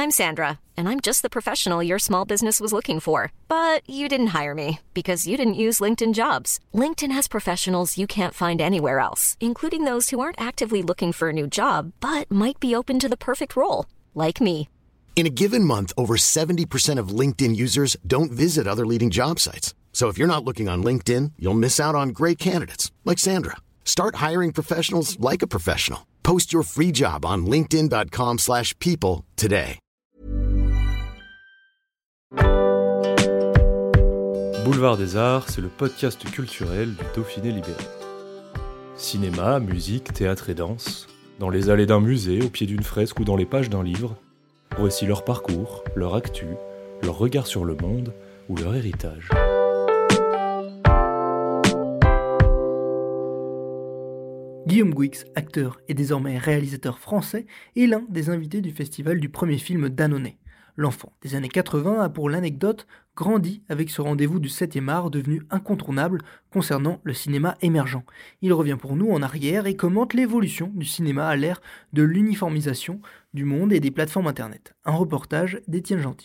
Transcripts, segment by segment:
I'm Sandra, and I'm just the professional your small business was looking for. But you didn't hire me because you didn't use LinkedIn Jobs. LinkedIn has professionals you can't find anywhere else, including those who aren't actively looking for a new job, but might be open to the perfect role, like me. In a given month, over 70% of LinkedIn users don't visit other leading job sites. So if you're not looking on LinkedIn, you'll miss out on great candidates like Sandra. Start hiring professionals like a professional. Post your free job on linkedin.com/people today. Boulevard des Arts, c'est le podcast culturel du Dauphiné libéré. Cinéma, musique, théâtre et danse, dans les allées d'un musée, au pied d'une fresque ou dans les pages d'un livre, voici leur parcours, leur actu, leur regard sur le monde ou leur héritage. Guillaume Gouix, acteur et désormais réalisateur français, est l'un des invités du festival du premier film Dannonnet. L'enfant des années 80 a pour l'anecdote grandi avec ce rendez-vous du 7e art devenu incontournable concernant le cinéma émergent. Il revient pour nous en arrière et commente l'évolution du cinéma à l'ère de l'uniformisation du monde et des plateformes internet. Un reportage d'Étienne Gentil.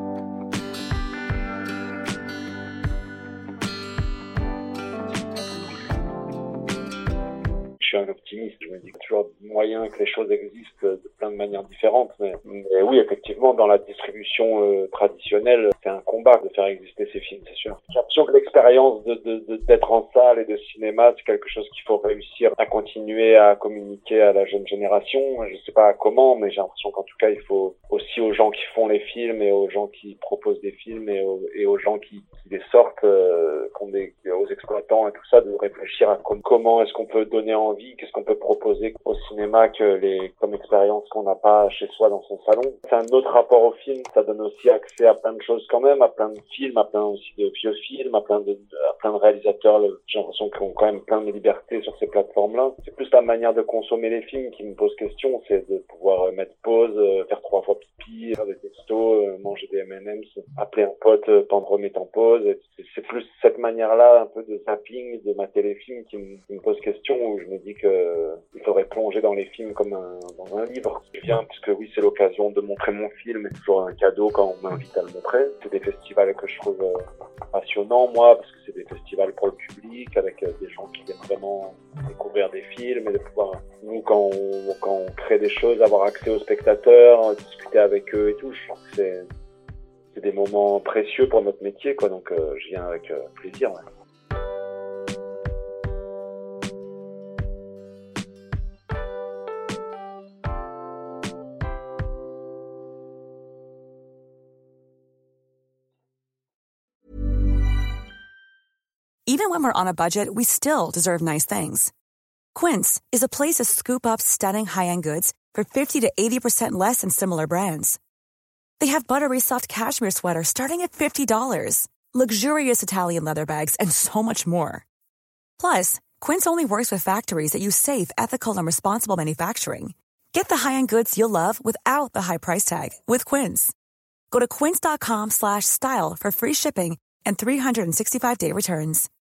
Je suis un optimiste, je me dis qu'il y a toujours moyen que les choses existent de plein de manières différentes, mais oui, effectivement, dans la distribution traditionnelle, c'est un combat de faire exister ces films, c'est sûr. J'ai l'impression que l'expérience d'être en salle et de cinéma, c'est quelque chose qu'il faut réussir à continuer à communiquer à la jeune génération. Je sais pas comment, mais j'ai l'impression qu'en tout cas, il faut aussi aux gens qui font les films et aux gens qui proposent des films et aux gens qui les sortent, aux exploitants et tout ça, de réfléchir à comment est-ce qu'on peut donner envie, qu'est-ce qu'on peut proposer au cinéma comme expérience qu'on n'a pas chez soi dans son salon. C'est un autre rapport au film, ça donne aussi accès à plein de choses quand même, à plein de films, à plein aussi de vieux films, à plein de réalisateurs. J'ai l'impression qu'ils ont quand même plein de liberté sur ces plateformes-là. C'est plus la manière de consommer les films qui me pose question, c'est de pouvoir mettre pause, faire 3 fois pipi, faire des textos, manger des M&M's, appeler un pote pendant remettre en pause. C'est plus cette manière-là, un peu de zapping, de mater les films qui me pose question, où je me dis que il faudrait plonger dans les films comme dans un livre. Je viens puisque oui, c'est l'occasion de montrer mon film, c'est toujours un cadeau quand on m'invite à le montrer. C'est des festivals que je trouve passionnants, moi, parce que c'est des festivals pour le public, avec des gens qui viennent vraiment découvrir des films et de pouvoir, nous, quand on crée des choses, avoir accès aux spectateurs, discuter avec eux et tout. Je trouve que c'est des moments précieux pour notre métier, quoi. Donc je viens avec plaisir. Ouais. Even when we're on a budget, we still deserve nice things. Quince is a place to scoop up stunning high-end goods for 50 to 80% less than similar brands. They have buttery soft cashmere sweaters starting at $50, luxurious Italian leather bags, and so much more. Plus, Quince only works with factories that use safe, ethical, and responsible manufacturing. Get the high-end goods you'll love without the high price tag with Quince. Go to quince.com/style for free shipping and 365-day returns.